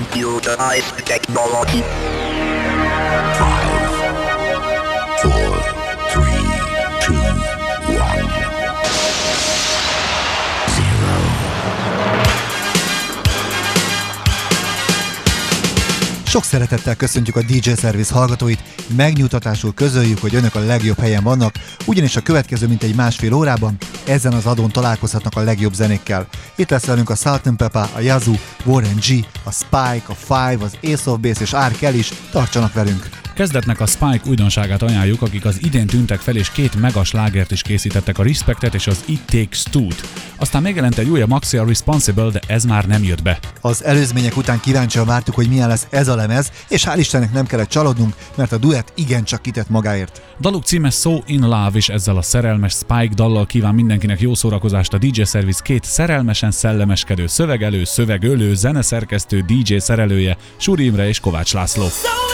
Computerized technology. 5, 4, 3, 2, 1, 0. Sok szeretettel köszöntjük a DJ Service hallgatóit, megnyugtatásul közöljük, hogy önök a legjobb helyen vannak, ugyanis a következő mintegy másfél órában ezen az adón találkozhatnak a legjobb zenékkel. Itt lesz velünk a Salt&Pepper, a Yazoo, Warren G, a Spike, a Five, az Ace of Base és R. Kelly is, tartsanak velünk! Kezdetnek a Spike újdonságát ajánljuk, akik az idén tűntek fel és 2 mega slágert is készítettek, a Respectet és az It Takes Two-t. Aztán megjelent egy újabb maxi, a Responsible, de ez már nem jött be. Az előzmények után kíváncsian vártuk, hogy milyen lesz ez a lemez, és hál' Istennek nem kellett csalódnunk, mert a duett igencsak kitett magáért. Daluk címe So In Love, és ezzel a szerelmes Spike dallal kíván mindenkinek jó szórakozást a DJ Service 2 szerelmesen szellemeskedő szövegelő, szövegölő, zeneszerkesztő, DJ szerelője, Suri Imre és Kovács László.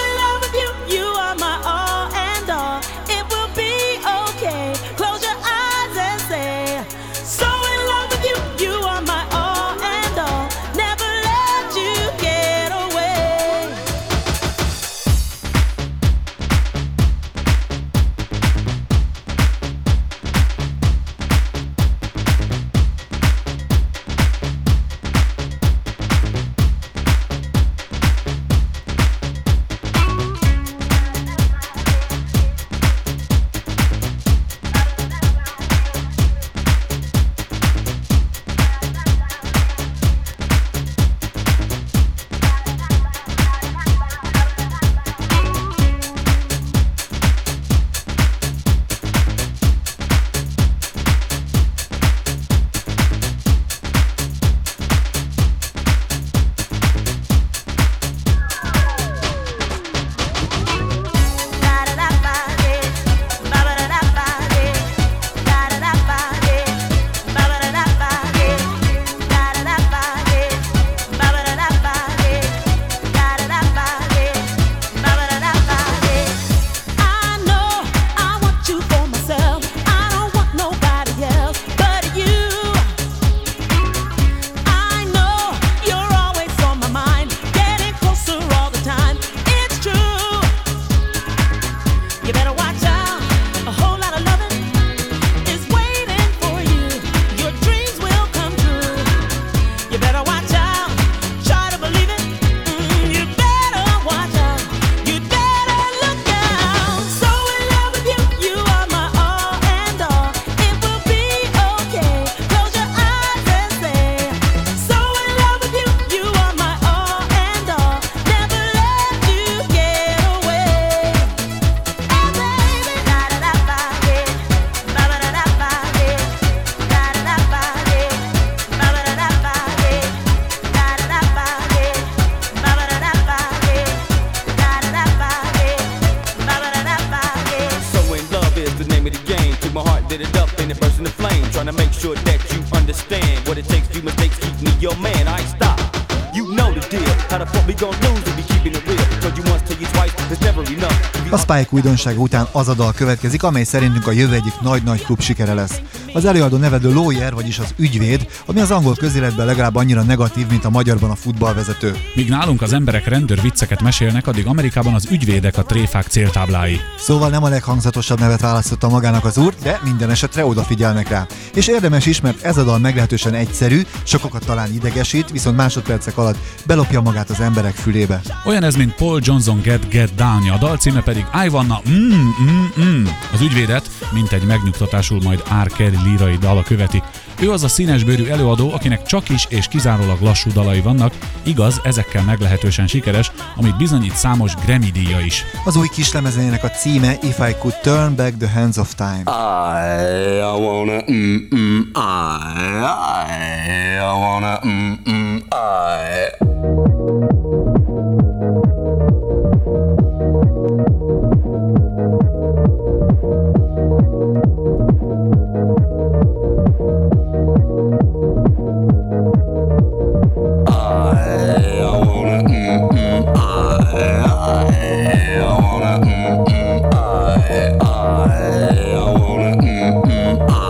A Spike újdonsága után az a dal következik, amely szerintünk a jövő egyik nagy-nagy klub sikere lesz. Az előadó neve The Lawyer, vagyis az ügyvéd, ami az angol közéletben legalább annyira negatív, mint a magyarban a futballvezető. Míg nálunk az emberek rendőr vicceket mesélnek, addig Amerikában az ügyvédek a tréfák céltáblái. Szóval nem a leghangzatosabb nevet választotta magának az úr, de minden esetre odafigyelnek rá. És érdemes is, mert ez a dal meglehetősen egyszerű, sokakat talán idegesít, viszont másodpercek alatt belopja magát az emberek fülébe. Olyan ez, mint Paul Johnson Get Down-ja, a dal címe pedig I Wanna Az ügyvédet, mint egy megnyugtatásul majd R. Kelly lírai dala követi. Ő az a színesbőrű előadó, akinek csak is és kizárólag lassú dalai vannak, igaz, ezekkel meglehetősen sikeres, amit bizonyít számos Grammy-díja is. Az új kislemezének a címe If I Could Turn Back the Hands of Time. I wanna I wanna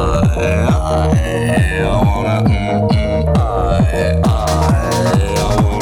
I wanna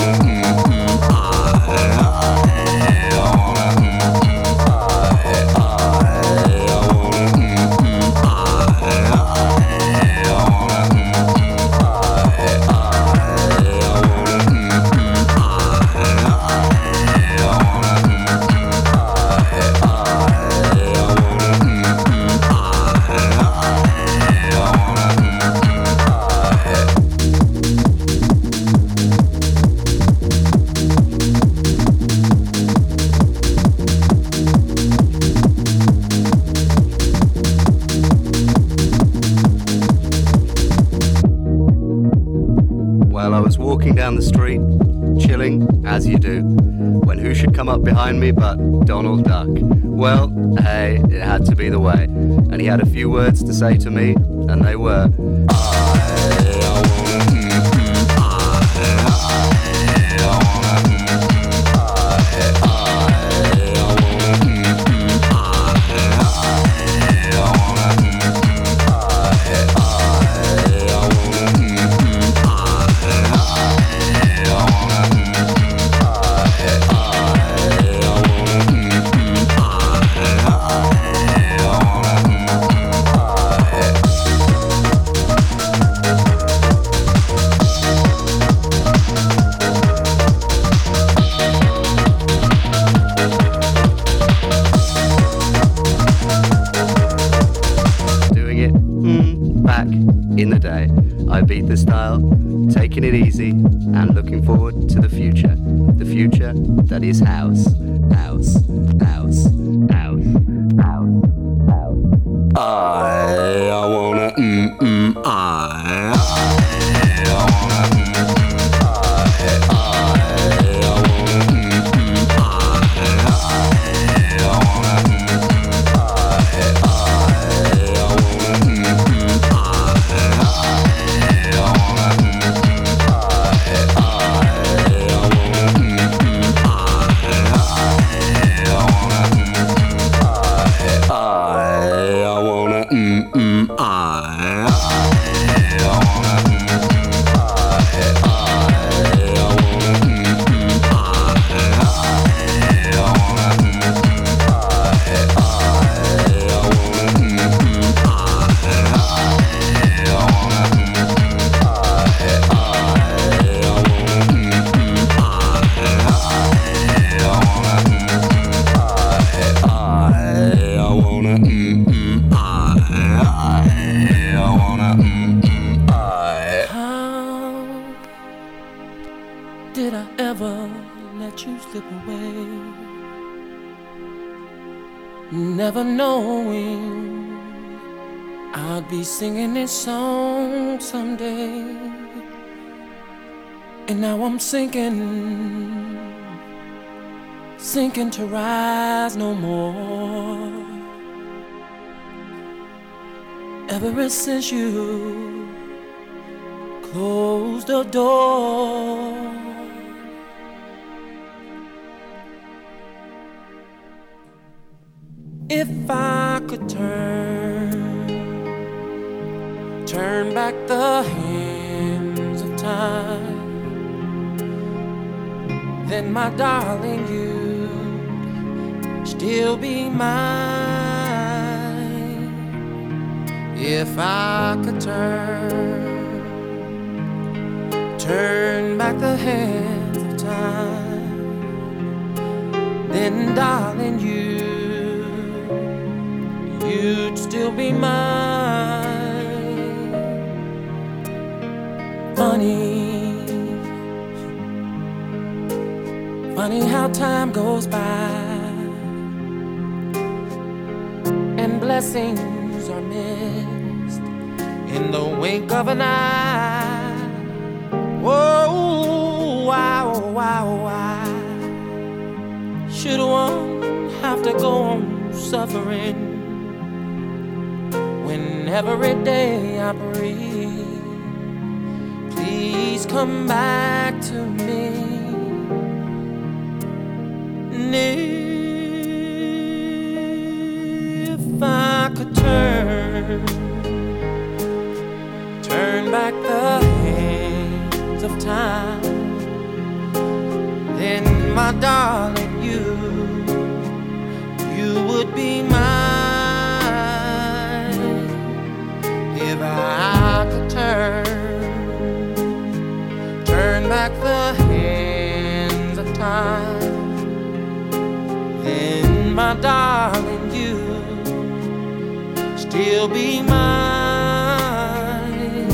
walking down the street, chilling, as you do, when who should come up behind me but Donald Duck. Well, hey, it had to be the way. And he had a few words to say to me, and they were, in the day. I beat the style, taking it easy, and looking forward to the future. The future that is house, house, house, house, house, house. I wanna I never knowing I'd be singing this song someday. And now I'm sinking to rise no more. Ever since you closed the door, if I could turn back the hands of time, then my darling, you'd still be mine. If I could turn back the hands of time, then darling, you'd still be mine. Funny how time goes by and blessings are missed in the wink of an eye. Whoa, why should one have to go on suffering when every day I breathe? Please come back to me. And if I could turn back the hands of time, then my darling, you would be mine. If I could turn back the hands of time, then my darling, you still be mine.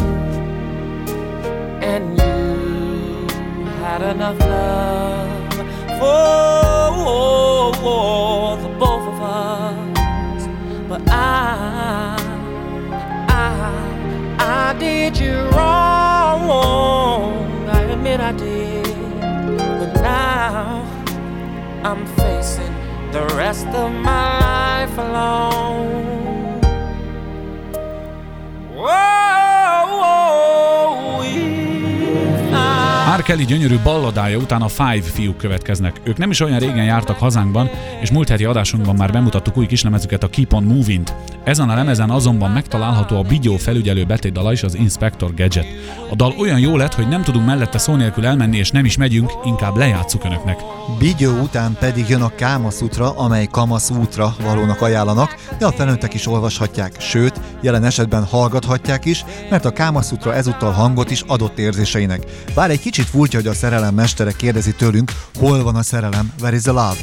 And you had enough love for the both of us, but I did you wrong. I admit admit I did, but now I'm facing the rest of my life alone. R. Kelly gyönyörű balladája után a Five fiúk következnek. Ők nem is olyan régen jártak hazánkban, és múlt heti adásunkban már bemutattuk új kislemezüket, a Keep on Moving-t. Ezen a lemezen azonban megtalálható a Bigyó felügyelő betétdala is, az Inspector Gadget. A dal olyan jó lett, hogy nem tudunk mellette szó nélkül elmenni, és nem is megyünk, inkább lejátsszuk önöknek. Bigyó után pedig jön a Kámaszútra, amely Kamaszútra valónak ajánlanak, de a felnőttek is olvashatják, sőt, jelen esetben hallgathatják is, mert a Kámaszútra ezúttal hangot is adott érzéseinek. Bár egy kicsit furcsa, hogy a szerelem mestere kérdezi tőlünk, hol van a szerelem, where is the love?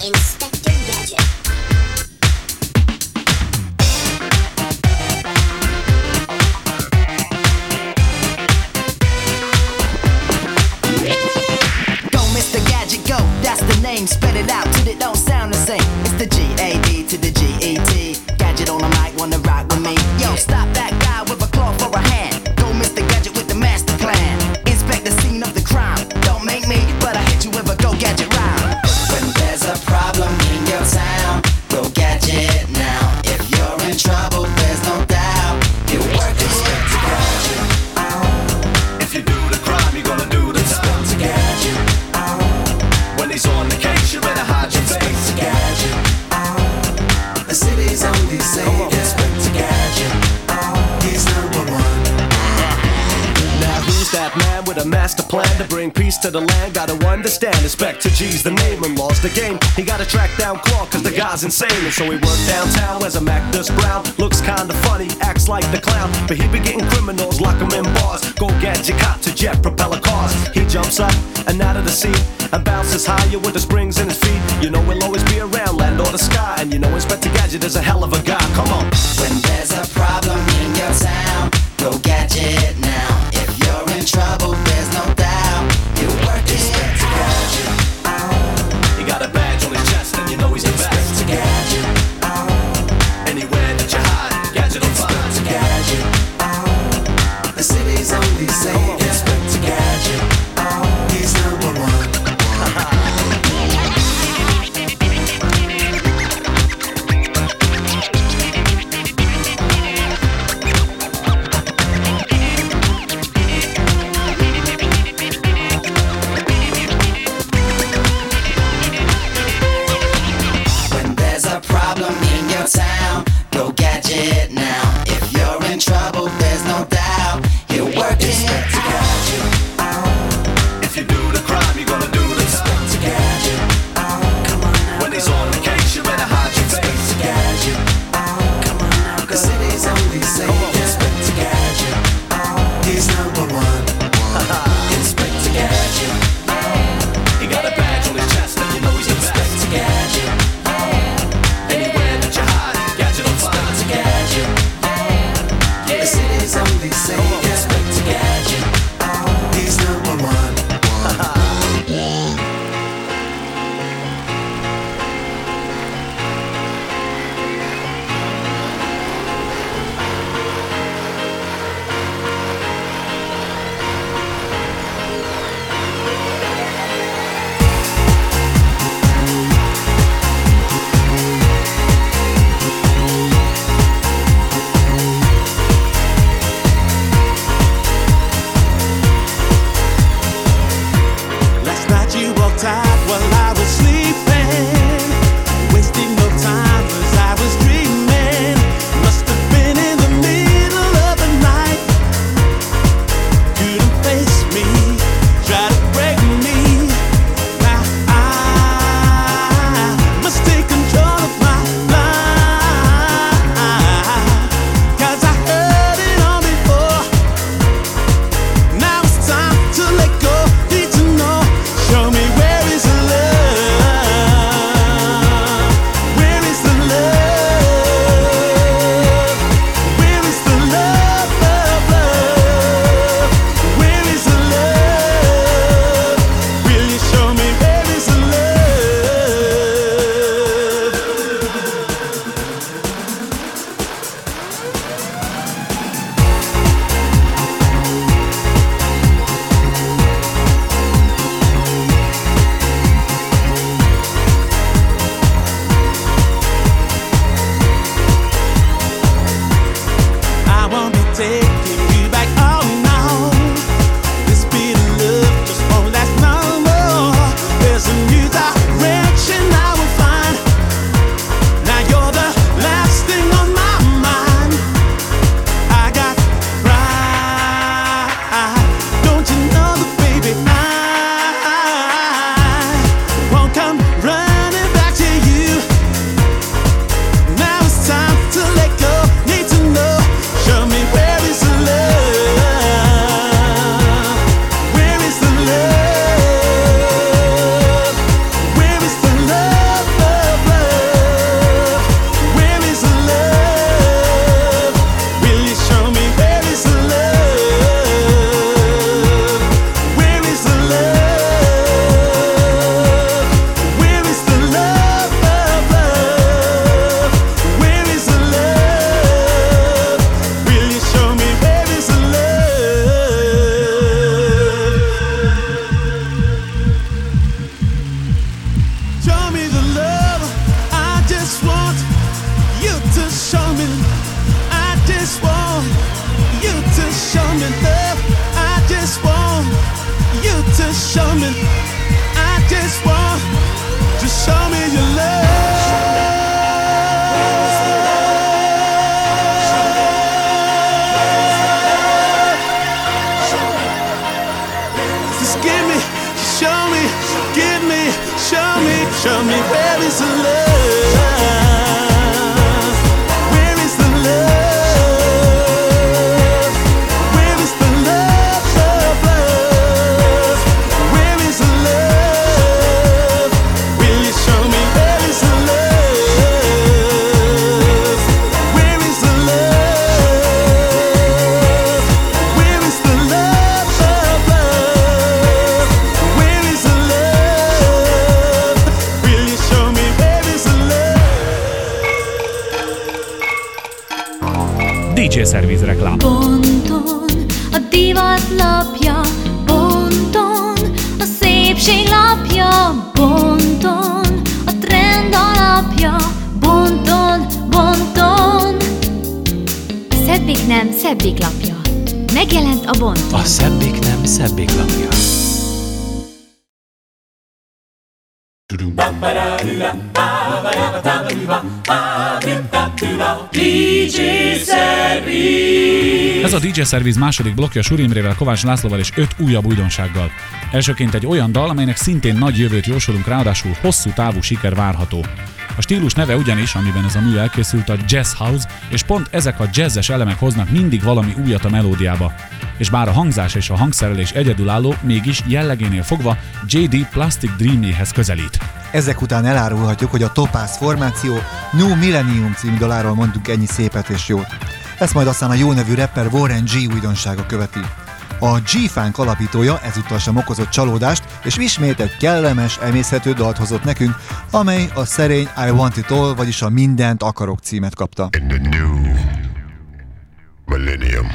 Spit it out till it don't sound the same. It's the G-A-D to the G-E-T. Gadget on the mic, wanna rock with me. Yo, stop that guy with a claw for a hand. Go Mr. Gadget with the master plan. Inspect the scene of the crime. Don't make me, but I hit you with a Go Gadget rhyme. When there's a problem in your town, Go Gadget now. If you're in trouble, there's no doubt. You work Inspector Gadget. If you do the crime, you're gonna do the Inspector Gadget. When he's on the case, you better hide your face. Gadget. The city's only safe. Inspector Gadget. He's number one. Now who's that man with a master plan to bring peace to the land? Gotta understand, Inspector G's the name and law's the game. He gotta track down Claw cause the guy's insane. And so he worked downtown as a Mactus Brown. Looks kinda funny, acts like the clown, but he be getting criminals, lock them in bars. Go Gadget cop to jet propeller cars. He jumps up and out of the seat and bounces higher with the springs in his feet. You know he'll always be around, land or the sky. And you know Inspector Gadget is a hell of a guy, come on. When there's a problem in your town, Go Gadget now. If you're in trouble, there's no doubt. You work Inspector Gadget. He got a badge on his chest and you know he's the best. Inspector Gadget. Anywhere that you hide, Gadget will find. Inspector Gadget. The city's only safe. Inspector Gadget. He's number one. show me. I just want to show me your love. Just give me, show me, give me, show me, show me where is the love. Where is the love? DJ Service reklám. Ponton a divat lapja, ponton a szépség lapja, ponton a trend alapja, ponton, ponton. A szebbik nem szebbik lapja. Megjelent a Bonton. A szebbik nem szebbik lapja. DJ Service. Ez a DJ Service második blokkja Suri Imrével, Kovács Lászlóval és 5 újabb újdonsággal. Elsőként egy olyan dal, amelynek szintén nagy jövőt jósolunk, ráadásul hosszú távú siker várható. A stílus neve ugyanis, amiben ez a mű elkészült, a Jazz House, és pont ezek a jazzes elemek hoznak mindig valami újat a melódiába. És bár a hangzás és a hangszerelés egyedülálló, mégis jellegénél fogva J.D. Plastic Dreamjéhez közelít. Ezek után elárulhatjuk, hogy a Topaz formáció New Millennium című daláról mondunk ennyi szépet és jót. Ezt majd aztán a jó nevű rapper Warren G újdonsága követi. A G-Funk alapítója ezúttal sem okozott csalódást, és ismét egy kellemes, emészhető dalt hozott nekünk, amely a szerény I Want It All, vagyis a Mindent akarok címet kapta. In the new millennium.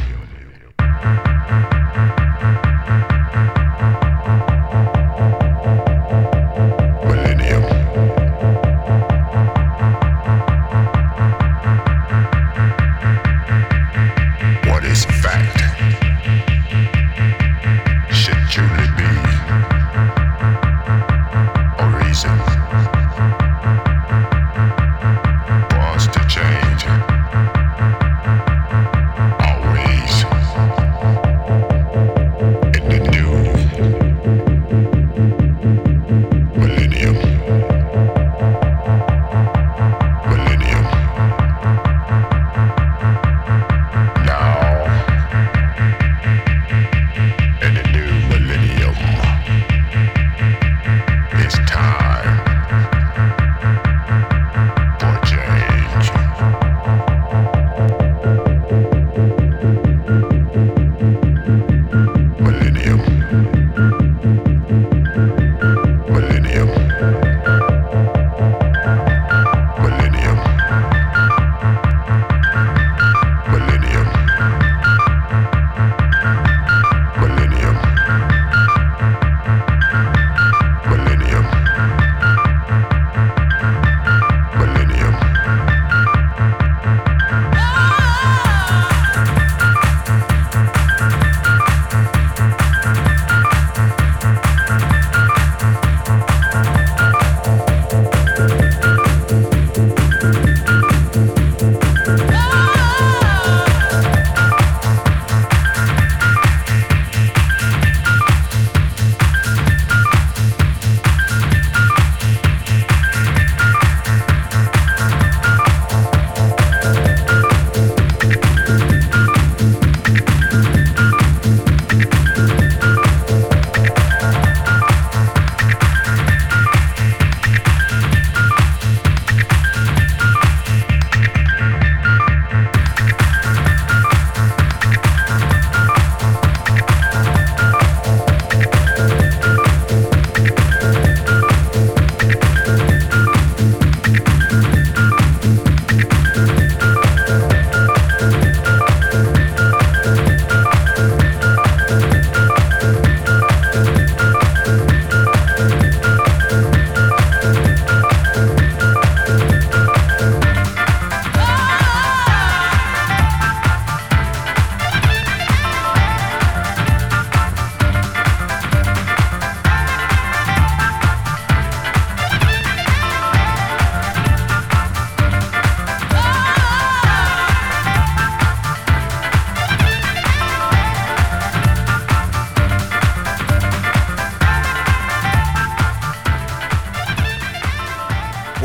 Change always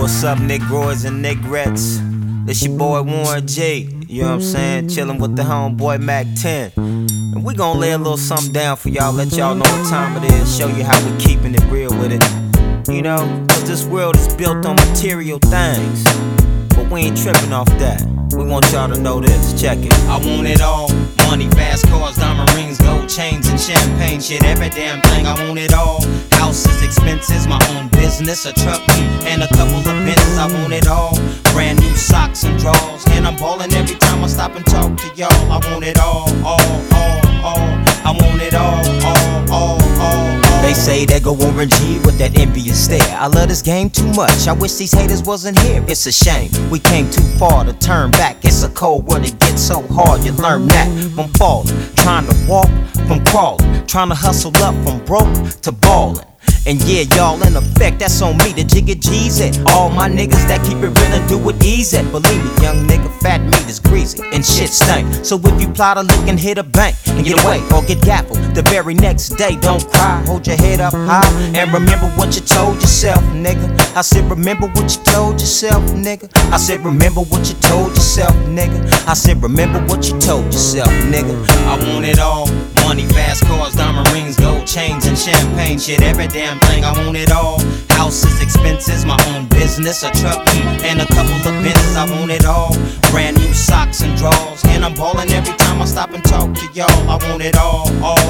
What's up, Negroids and Negrettes? It's your boy Warren G. You know what I'm saying? Chillin' with the homeboy Mac 10. And we gon' lay a little something down for y'all, let y'all know what time it is, show you how we keepin' it real with it. You know, cause this world is built on material things, but we ain't trippin' off that. We want y'all to know this, check it. I want it all. Money, fast cars, diamond rings, gold chains, and champagne shit. Every damn thing, I want it all. Houses, expenses, my own business, a truck, and a couple of Benzes. I want it all. Brand new socks and drawers, and I'm ballin' every time I stop and talk to y'all. I want it all. I want it all. They say they go Warren G with that envious stare. I love this game too much, I wish these haters wasn't here. It's a shame, we came too far to turn back. It's a cold world, it gets so hard. You learn that from falling, trying to walk from crawling, trying to hustle up from broke to ballin'. And yeah, y'all in effect, that's on me, the Jigga G's it. All my niggas that keep it real and do it easy. Believe me, young nigga, fat meat is greasy and shit stank. So if you plot a lick and hit a bank and get away or get gaffled the very next day, don't cry, hold your head up high and remember what you told yourself, nigga. I said remember what you told yourself, nigga. I said remember what you told yourself, nigga. I said remember what you told yourself, nigga. I want it all. Money, fast cars, diamond rings, gold chains, and champagne shit. Every damn thing, I want it all. Houses, expenses, my own business, a truck, and a couple of Benzes. I want it all. Brand new socks and drawers, and I'm ballin' every time I stop and talk to y'all. I want it all.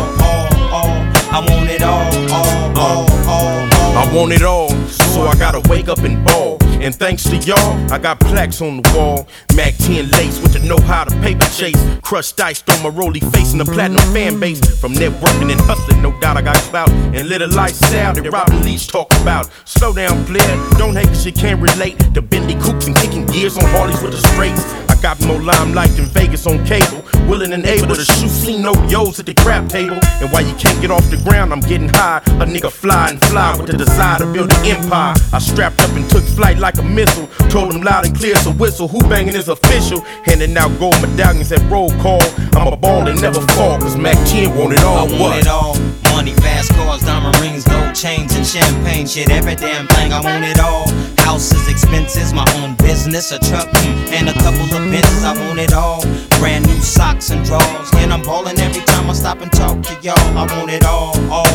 I want it all. I want it all, so I gotta wake up and ball. And thanks to y'all, I got plaques on the wall. Mac 10 lace with the know-how to paper chase. Crushed ice, throw my rolly face in the platinum fan base. From networking and hustling, no doubt I got clout. And little lifestyle that Robin Leach talk about. Slow down, player, don't hate cause you can't relate to Bentley coupes and kicking gears on Harleys with the straights. I got more limelight than Vegas on cable. Willing and able to shoot C-No-Yos at the crap table. And while you can't get off the ground, I'm getting high. A nigga fly and fly with the desire to build an empire. I strapped up and took flight like a missile. Told them loud and clear, so whistle. Who banging is official? Handing out gold medallions at roll call. I'm a ball and never fall, cause Mac 10 want it all. I want it all. Money, fast cars, diamond rings, gold chains, and champagne shit. Every damn thing, I want it all. Houses, expenses, my own business, a truck, and a couple of Benzes. I want it all. Brand new socks and drawers, and I'm ballin' every time I stop and talk to y'all. I want it all.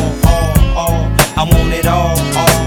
I want it all.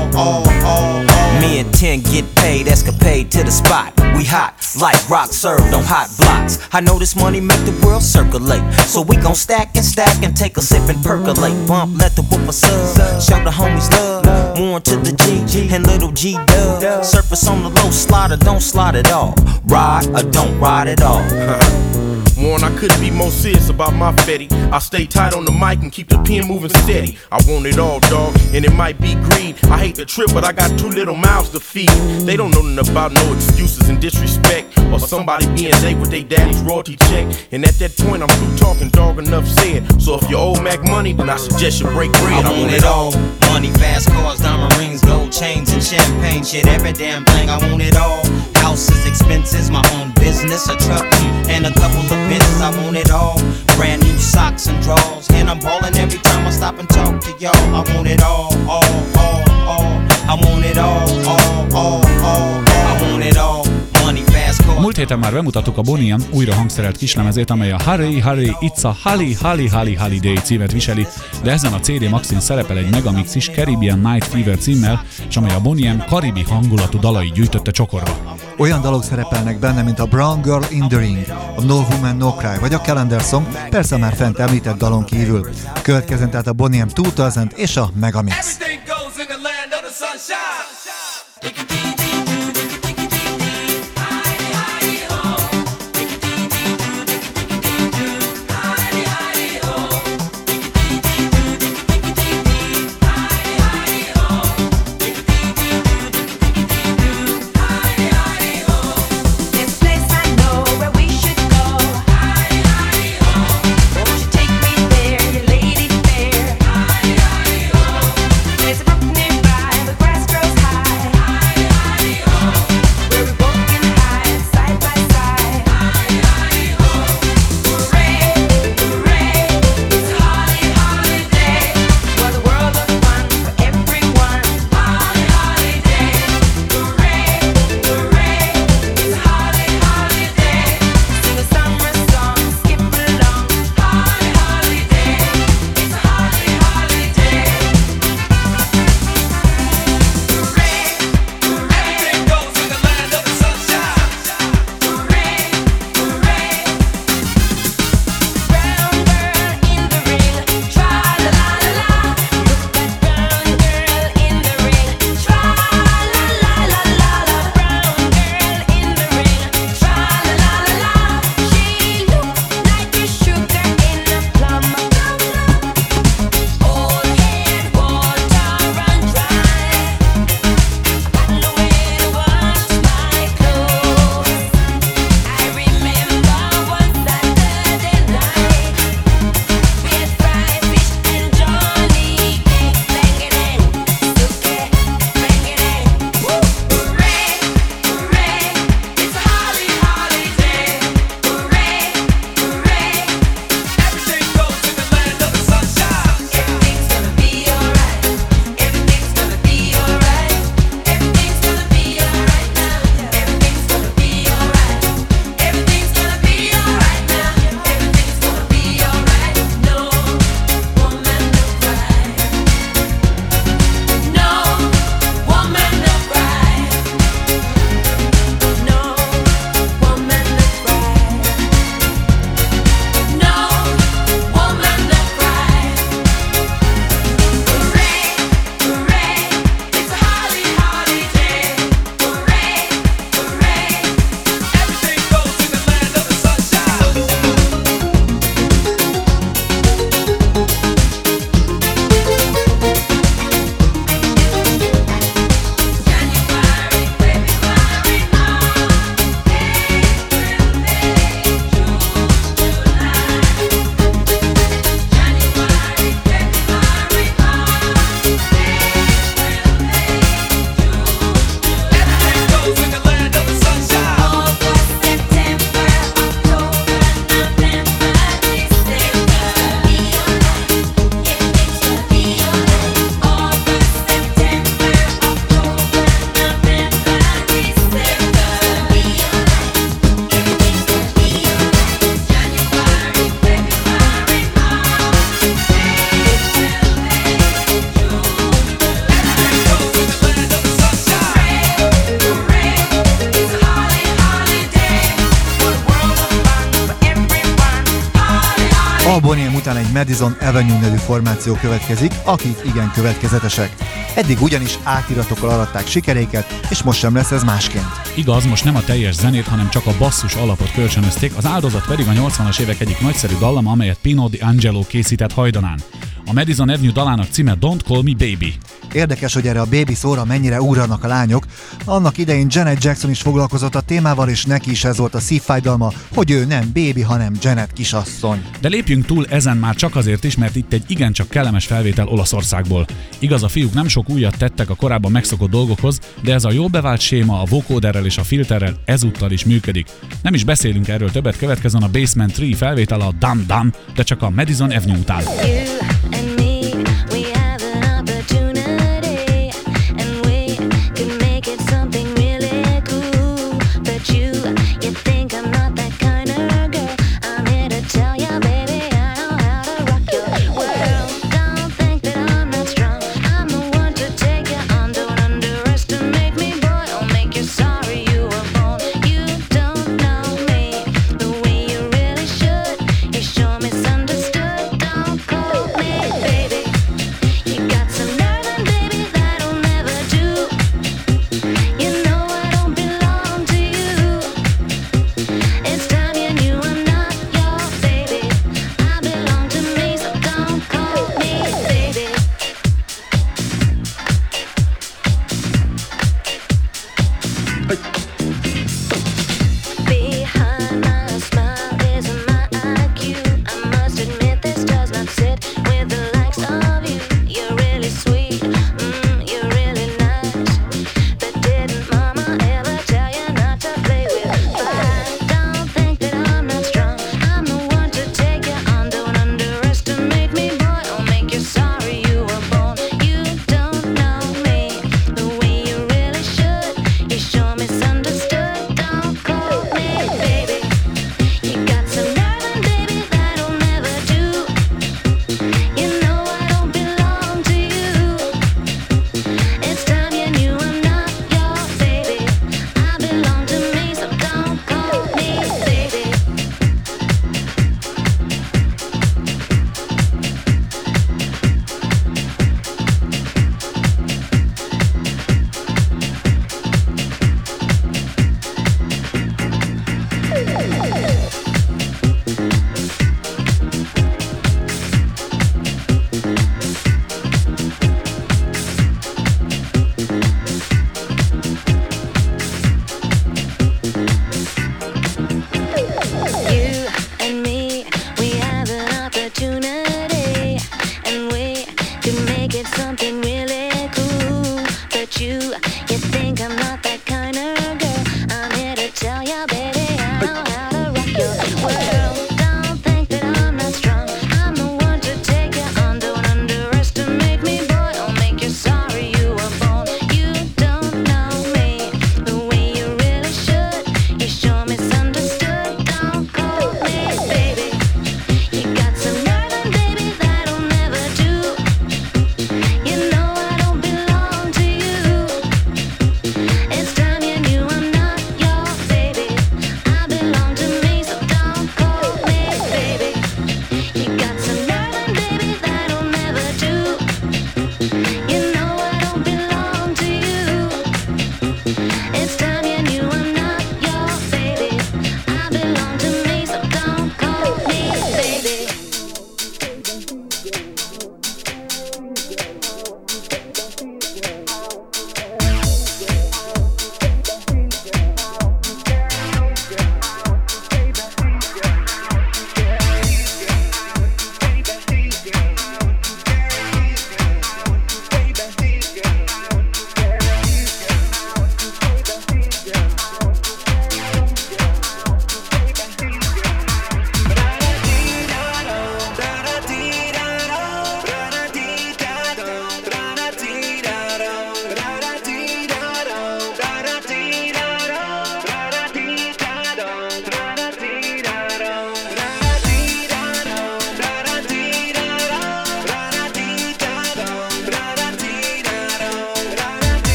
Me and 10 get paid, escapade to the spot. We hot, like rock served on hot blocks. I know this money make the world circulate, so we gon' stack and take a sip and percolate. Bump, let the whooper sub, show the homies love. Warren to the G and little G Dub. Surface on the low, slide or don't slide at all. Ride or don't ride at all. Warren, I couldn't be more serious about my fetty. I stay tight on the mic and keep the pen moving steady. I want it all, dog, and it might be greed. I hate the trip, but I got 2 little mouths to feed. They don't know nothing about no excuses and disrespect, or somebody being late with their daddy's royalty check. And at that point, I'm through talking, dog, enough said. So if you owe Mac money, then I suggest you break bread. I want it all. Money, fast cars, diamond rings, gold chains, and champagne shit. Every damn thing, I want it all. Houses, expenses, my own business, a truck, and a couple of Benzes. I want it all. Brand new socks and drawers, and I'm ballin' every time I stop and talk to y'all. I want it all. I want it all. I want it all. Money, fast cars. Múlt héten már bemutattuk a Bonnie M újra hangszerelt kislemezét, amely a Hurry, Hurry, It's a Holiday címet viseli, de ezen a CD Maxin szerepel egy megamix is Caribbean Night Fever címmel, és amely a Bonnie M karibi hangulatú dalai gyűjtötte csokorba. Olyan dalok szerepelnek benne, mint a Brown Girl in the Ring, a No Woman No Cry vagy a Calendar Song, persze a már fent említett dalon kívül. Következzen tehát a Bonnie M 2000 és a Megamix. There's a brook nearby, the grass grows high. után egy Madison Avenue nevű formáció következik, akik igen következetesek. Eddig ugyanis átiratokkal aratták sikereiket, és most sem lesz ez másként. Igaz, most nem a teljes zenét, hanem csak a basszus alapot kölcsönözték, az áldozat pedig a 80-as évek egyik nagyszerű dallama, amelyet Pino D'Angelo készített hajdanán. A Madison Avenue dalának címe Don't Call Me Baby. Érdekes, hogy erre a baby szóra mennyire ugranak a lányok. Annak idején Janet Jackson is foglalkozott a témával, és neki is ez volt a szívfájdalma, hogy ő nem baby, hanem Janet kisasszony. De lépjünk túl ezen már csak azért is, mert itt egy igencsak kellemes felvétel Olaszországból. Igaz, a fiúk nem sok újat tettek a korábban megszokott dolgokhoz, de ez a jól bevált séma a vocóderrel és a filterrel ezúttal is működik. Nem is beszélünk erről többet, következzen a Basement 3 felvétel a Dum Dum, de csak a Madison Avenue után.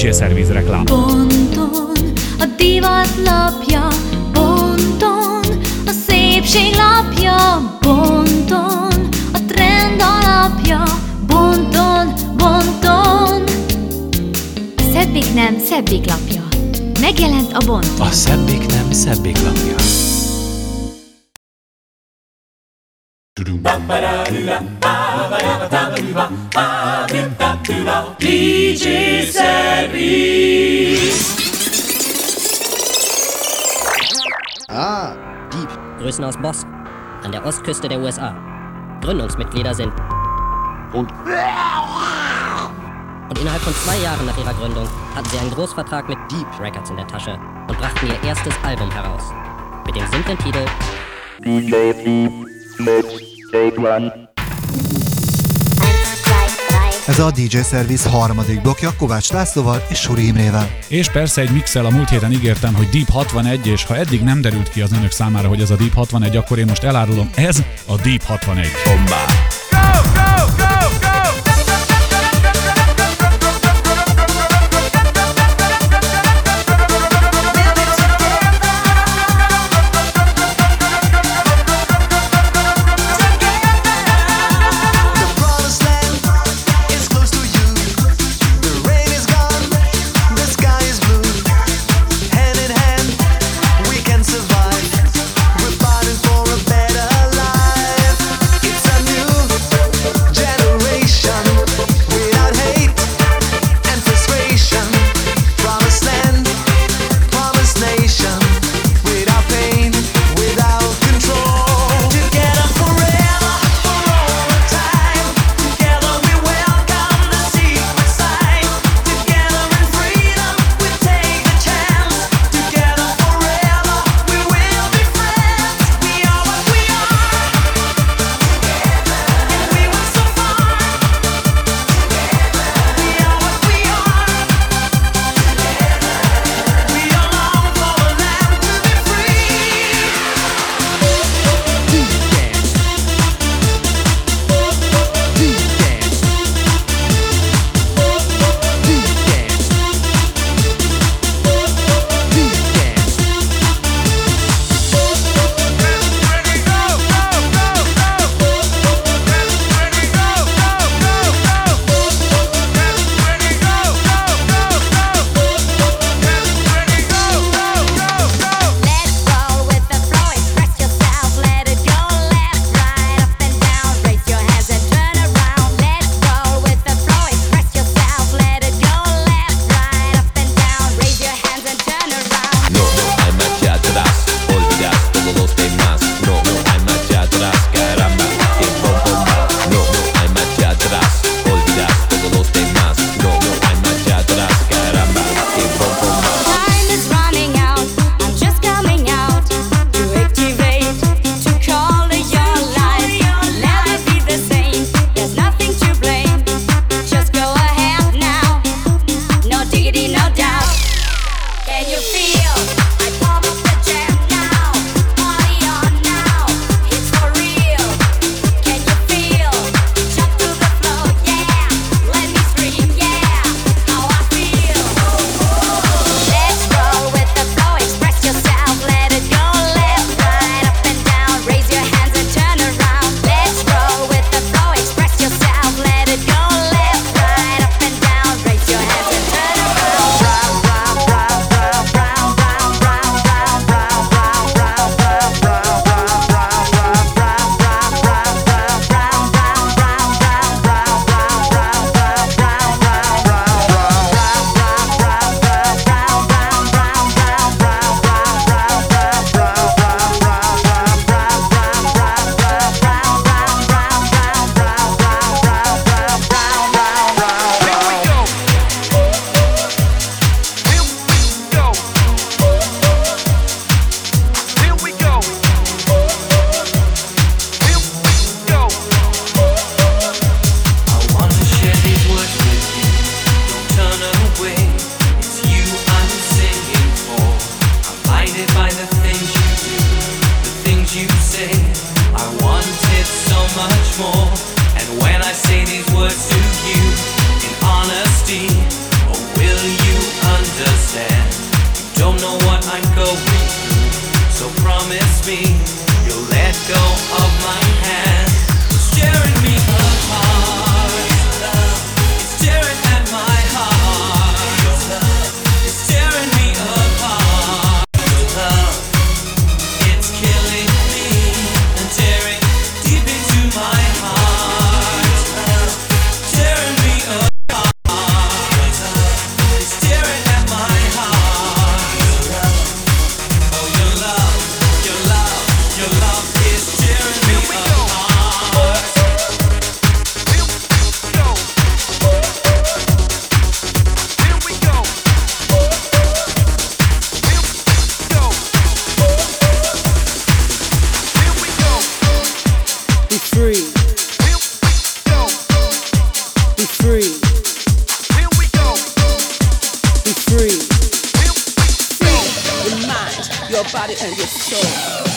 DJ Service reklám. Ponton a divat lapja, ponton a szépség lapja, ponton a trend alapja, bonton, bonton. A szebbik nem szebbik lapja, megjelent a bonton. A szebbik nem szebbik lapja. DJ Service. Deep. Grüßen aus Boston, an der Ostküste der USA. Gründungsmitglieder sind und innerhalb von 2 Jahren nach ihrer Gründung hatten sie einen Großvertrag mit Deep Records in der Tasche und brachten ihr erstes Album heraus. Mit dem simplen Titel DJ Deep mit Take One. Ez a DJ Service harmadik blokkja Kovács Lászlóval és Suri Imrével. És persze egy mixel, a múlt héten ígértem, hogy Deep 61, és ha eddig nem derült ki az önök számára, hogy ez a Deep 61, akkor én most elárulom, ez a Deep 61. Bomba. Go, go, go, go! Survive. We're fighting for a better life. It's a new So promise me you'll let go of my hand. It's tearing me apart. It's tearing at my heart. It's tearing me apart. It's killing me and tearing deep into my heart. Tearing me apart. It's tearing at my heart. Oh, your love is tearing me apart. Here we go. Be free. Be free. Be free. Free your mind, your body, and your soul.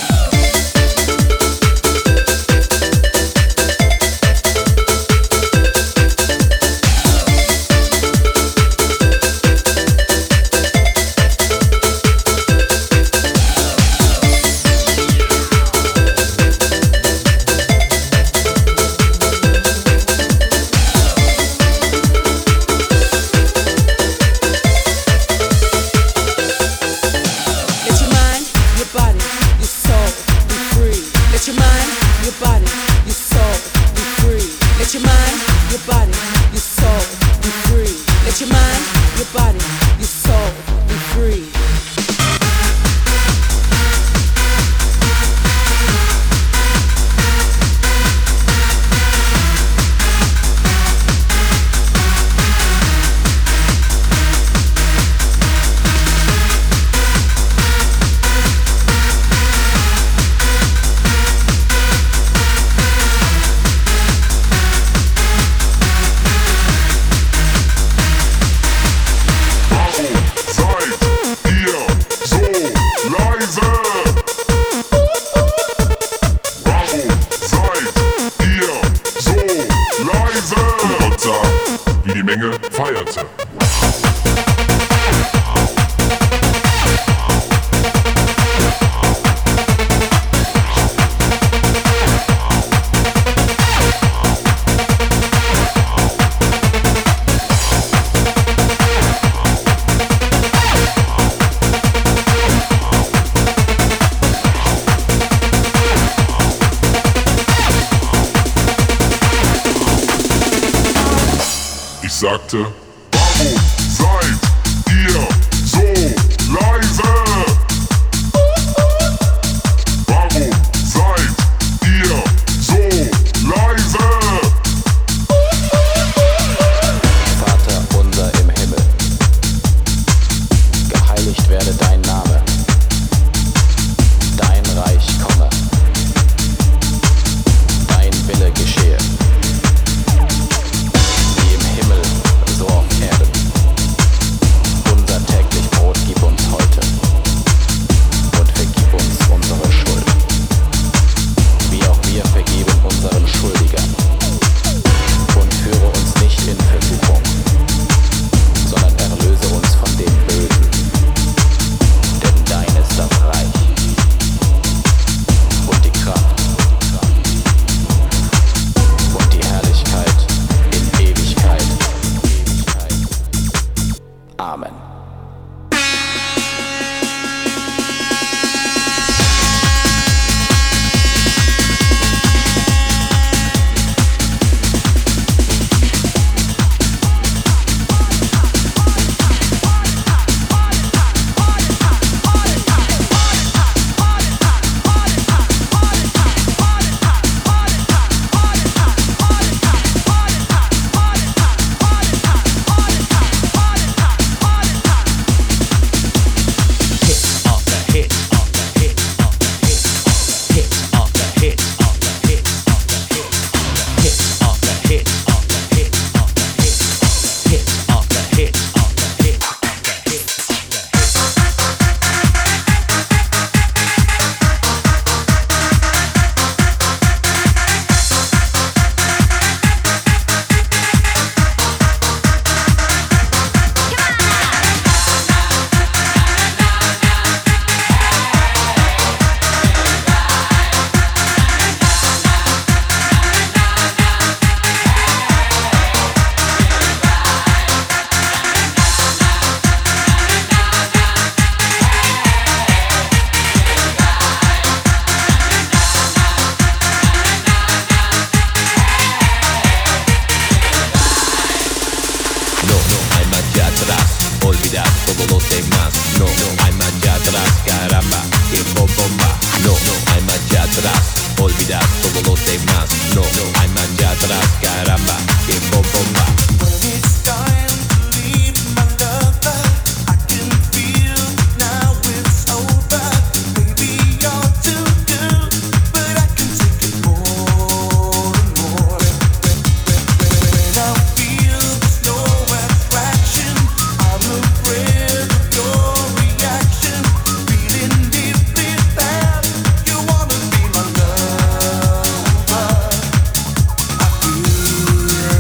Sagte, warum seid ihr so leise? Warum seid ihr so leise? Vater unser im Himmel, geheiligt werde dein Name, dein Reich komme, dein Wille geschehe. So auf atrás, olvidar todo lo demás. No hay marcha atrás, caramba, que bomba. I feel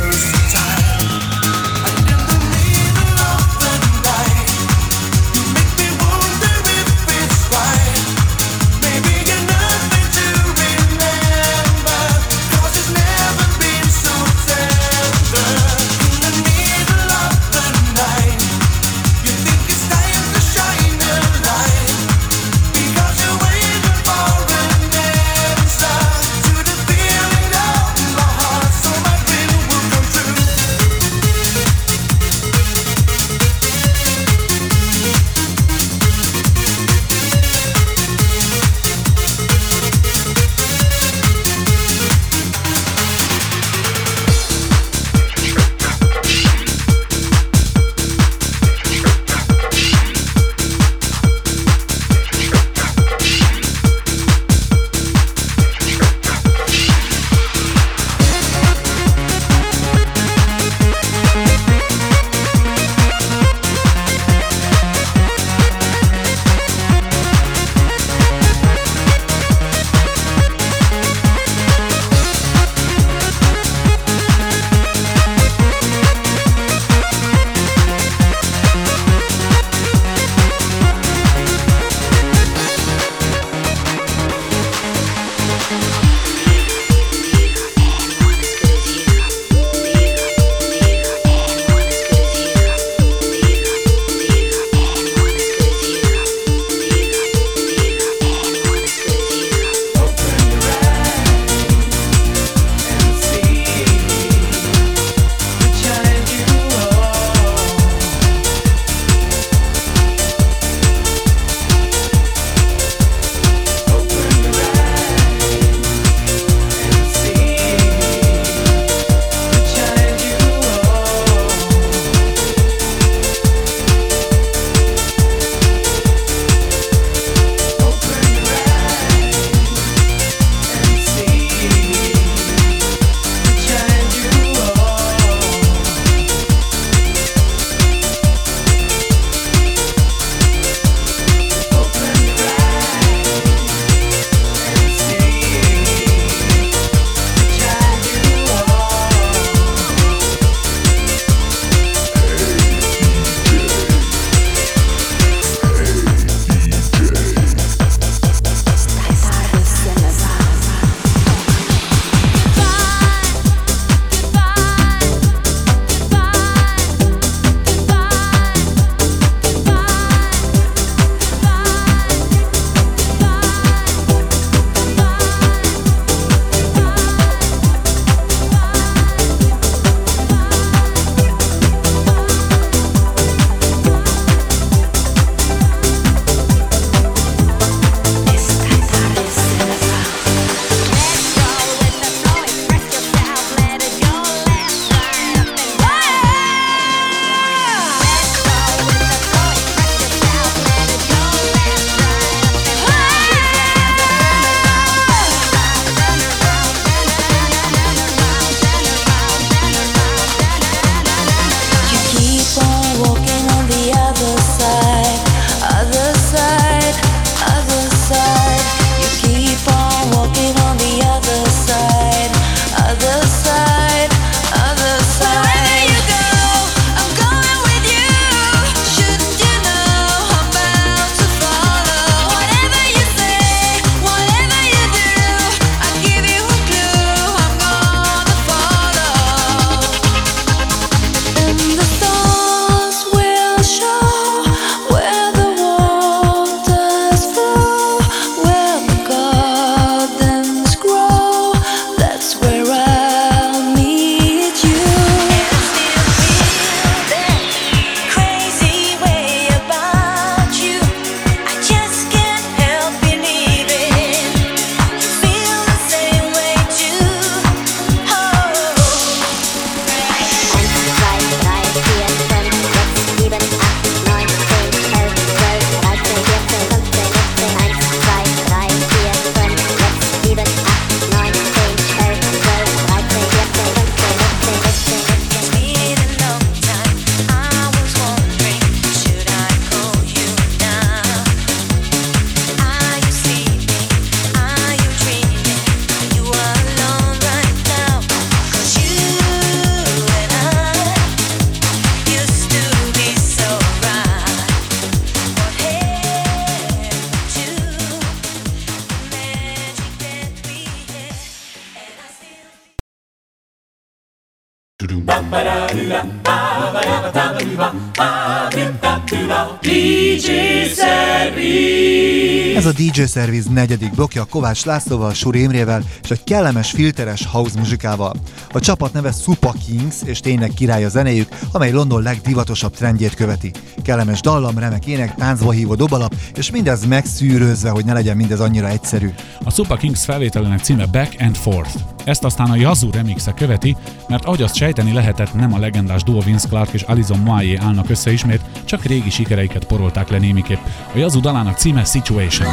DJ Service. Ez a DJ Service negyedik blokja Kovács Lászlóval, Suri Imrével és egy kellemes filteres house muzsikával. A csapat neve Supa Kings, és tényleg király a zenéjük, amely London legdivatosabb trendjét követi. Kellemes dallam, remek ének, táncba hívó dobalap, és mindez megszűrözve, hogy ne legyen mindez annyira egyszerű. A Supa Kings felvételének címe Back and Forth. Ezt aztán a Yazoo remixe követi, mert ahogy azt sejteni lehetett, nem a legendás duo Vince Clarke és Alison Moyet állnak össze ismét, csak régi sikereiket porolták le némiképp. A Yazoo dalának címe Situation.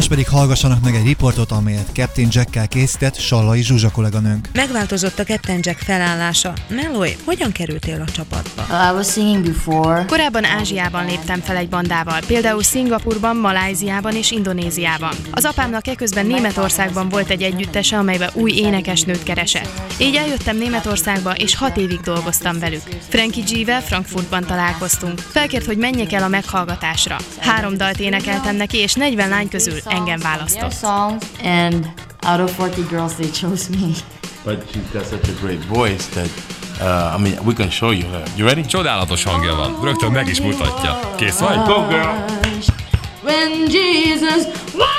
pedig hallgassanak meg egy riportot, amelyet Captain Jackkel készített Sallai Zsuzsa kolléganőnk. Megváltozott a Captain Jack felállása. Meloy, hogyan kerültél a csapatba? I was singing before. Korábban Ázsiában léptem fel egy bandával, például Szingapurban, Malajziában és Indonéziában. Az apámnak eközben Németországban volt egy együttese, amelybe új énekesnőt keresett. Így eljöttem Németországba, és 6 évig dolgoztam velük. Frankie G-vel Frankfurtban találkoztunk. Felkért, hogy menjek el a meghallgatásra. 3 dalt énekeltem neki, és 40 lány közül engem választott. And out of 40 girls, they chose me. But she's got such a great voice that I mean, we can show you her. You ready? Csodálatos hangja van. Rögtön meg is mutatja. Kész vagy? Go, girl! When Jesus washed,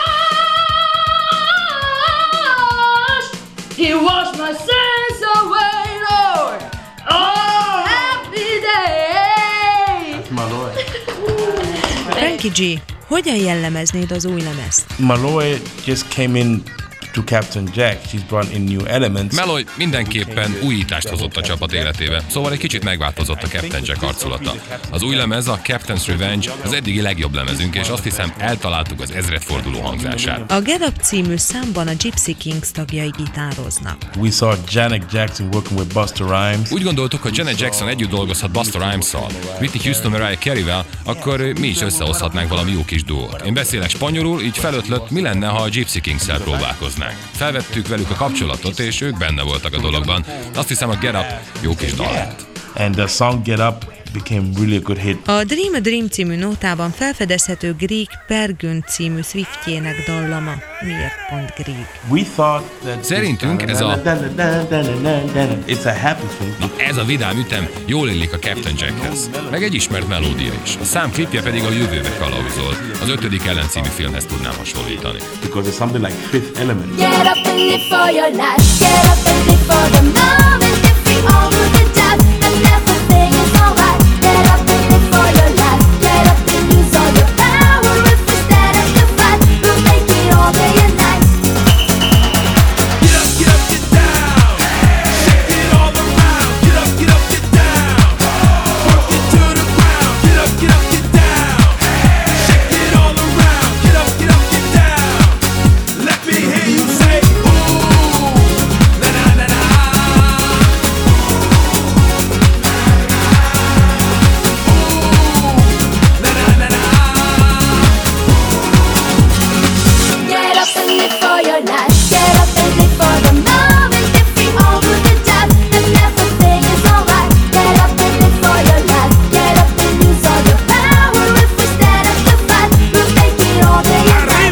He washed my sins away, Lord. Oh, happy day! That's Malloy. Frankie G, hogyan jellemeznéd az új lemezt? Malloy just came in to Captain Jack. She's brought in new elements. Meloy mindenképpen újítást hozott a csapat életébe, szóval egy kicsit megváltozott a Captain Jack arculata. Az új lemez, a Captain's Revenge az eddigi legjobb lemezünk, és azt hiszem eltaláltuk az ezredforduló hangzását. A Get Up című számban a Gypsy Kings tagjai gitároznak. We saw Janet Jackson working with Busta Rhymes. Úgy gondoltuk, hogy Janet Jackson együtt dolgozhat Busta Rhymes-szal, Whitney Houston, Mariah Carey-vel, akkor mi is összehozhatnánk valami jó kis duót. Én beszélek spanyolul, így felötlött, mi lenne, ha a Gypsy Kings-szel próbálkoznánk. Felvettük velük a kapcsolatot, és ők benne voltak a dologban. Azt hiszem, a Get Up jó kis dal lett. And the song Get Up became really a good hit. A Dream című nótában felfedezhető Grieg Pergün című Swiftjének dallama. Miért pont Grieg? We thought that szerintünk ez a it's a happy thing. Na, ez a vidám ütem jól illik a Captain Jackhez. Meg egy ismert melódia is. A szám klipje pedig a jövőbe kalauzol. Az 5. Ellen című filmhez tudnám hasonlítani. Because it's something like Fifth Element. Get up and live for your life. Get up and live for the moment. If we all do the job, then everything is alright. Get up and live for your life. Get up and use all your power. If we stand up to fight, we'll make it all day and night. Get up, get down. Shake it all around. Get up, get down. Work it to the ground. Get up, get down. Shake it all around. Get up, get down. Let me hear you say, ooh, na na na na. Get up and live for your life. Get up and live for the moment. If we all do the job, then everything is alright. Get up and live for your life. Get up and use all your power. If we stand up to fight, we'll make it all day and night.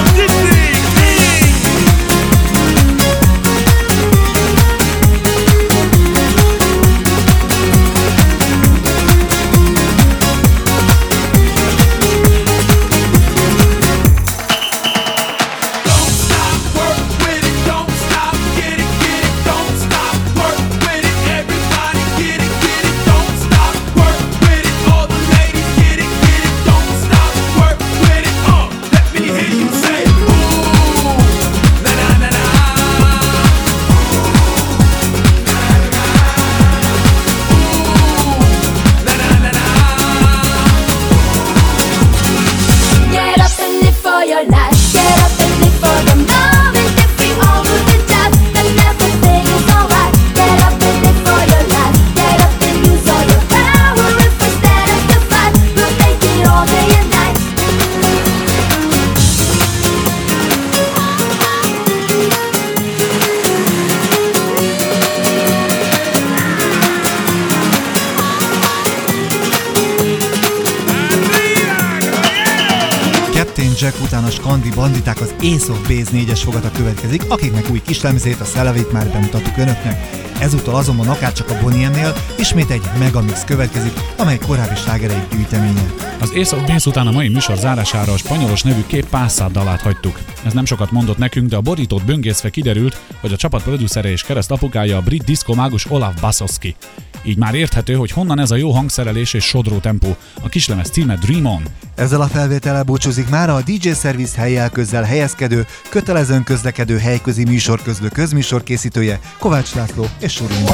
Don't stop, work with it. Don't stop, get it. Don't stop, work with it. Everybody get it. Don't stop, work with it. All the ladies get it. Don't stop, work with it. Let me hear you say, ooh, na na na na. Get up and live for your life. Get up and live for the moment. If we all do the job, then everything is alright. Get up and live for your life. Get up and use all your power. If we stand up to fight, we'll make it all day and night. Captain Jack után a skandi banditák az Ace of Base 4-es fogata következik, akiknek új kislemzét, a Szelevét már bemutattuk önöknek. Ezúttal azonban akárcsak a Bonnie M-nél ismét egy megamix következik, amely korábbi slágereik gyűjteménye. Az Ace of Base után a mai műsor zárására a spanyolos nevű Két Pászár dalát hagytuk. Ez nem sokat mondott nekünk, de a borítót böngészve kiderült, hogy a csapat producere és keresztapukája a brit diszkó mágus Olaf Basowski. Így már érthető, hogy honnan ez a jó hangszerelés és sodró tempó. A kislemez címe Dream On. Ezzel a felvétellel búcsúzik mára a DJ Service helyjel közzel helyezkedő, kötelezően közlekedő helyközi műsorközlő közműsor készítője Kovács László és Suruma.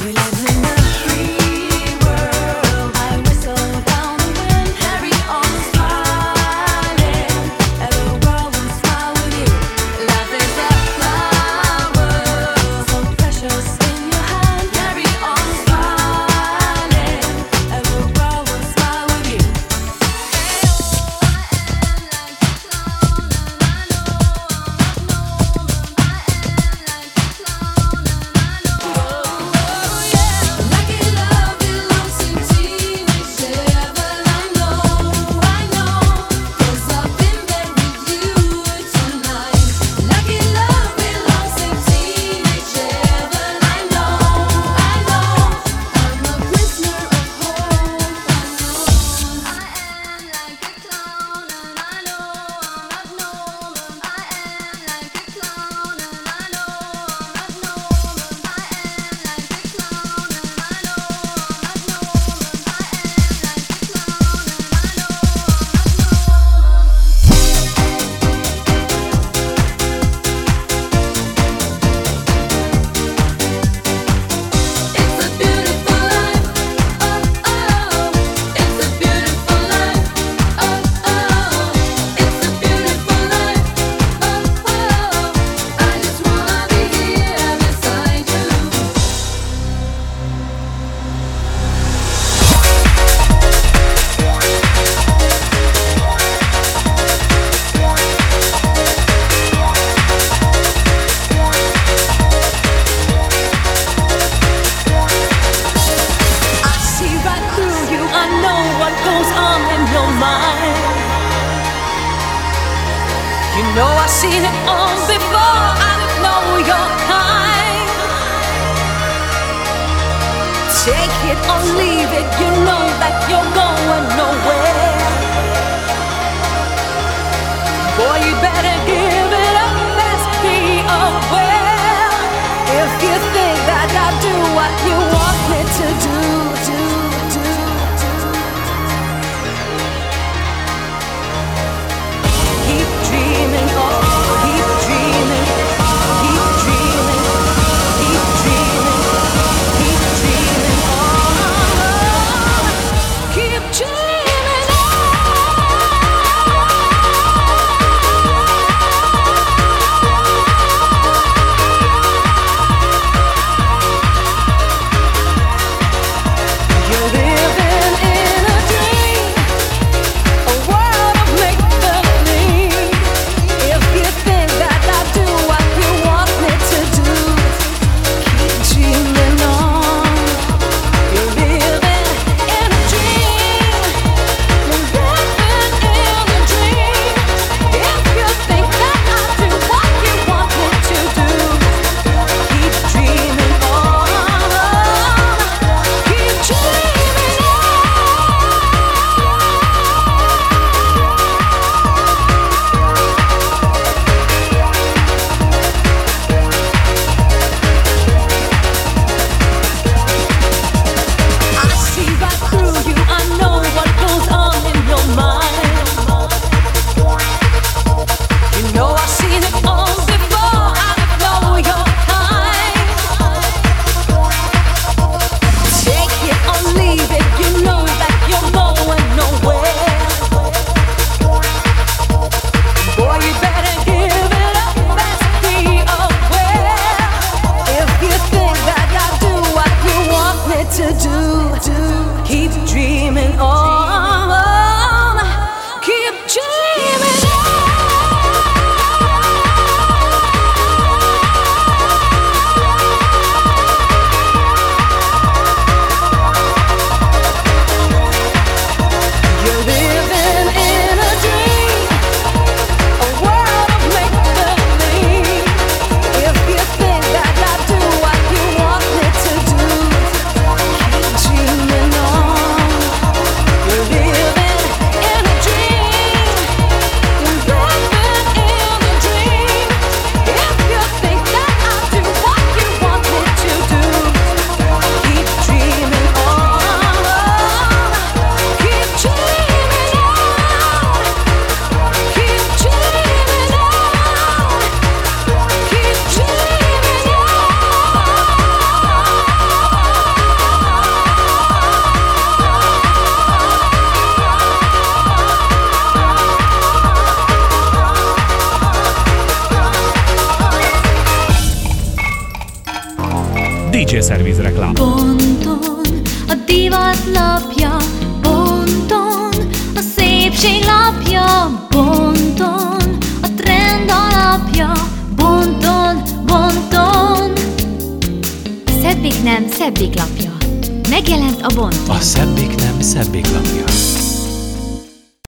know I've seen it all before. I know your kind. Take it or leave it. You know that you're going nowhere. Boy, you better give it up. Let's be aware. If you think that I'll do what you want me to do. Keep dreaming, oh, keep dreaming, keep dreaming, keep dreaming, keep dreaming, oh, keep dreaming. DJ Service reklám. Bonton a divat lapja, bonton a szépség lapja, bonton a trend alapja, bonton, bonton. Szebbik nem, szebbik lapja. Megjelent a Bonton. A szebbik nem, szebbik lapja.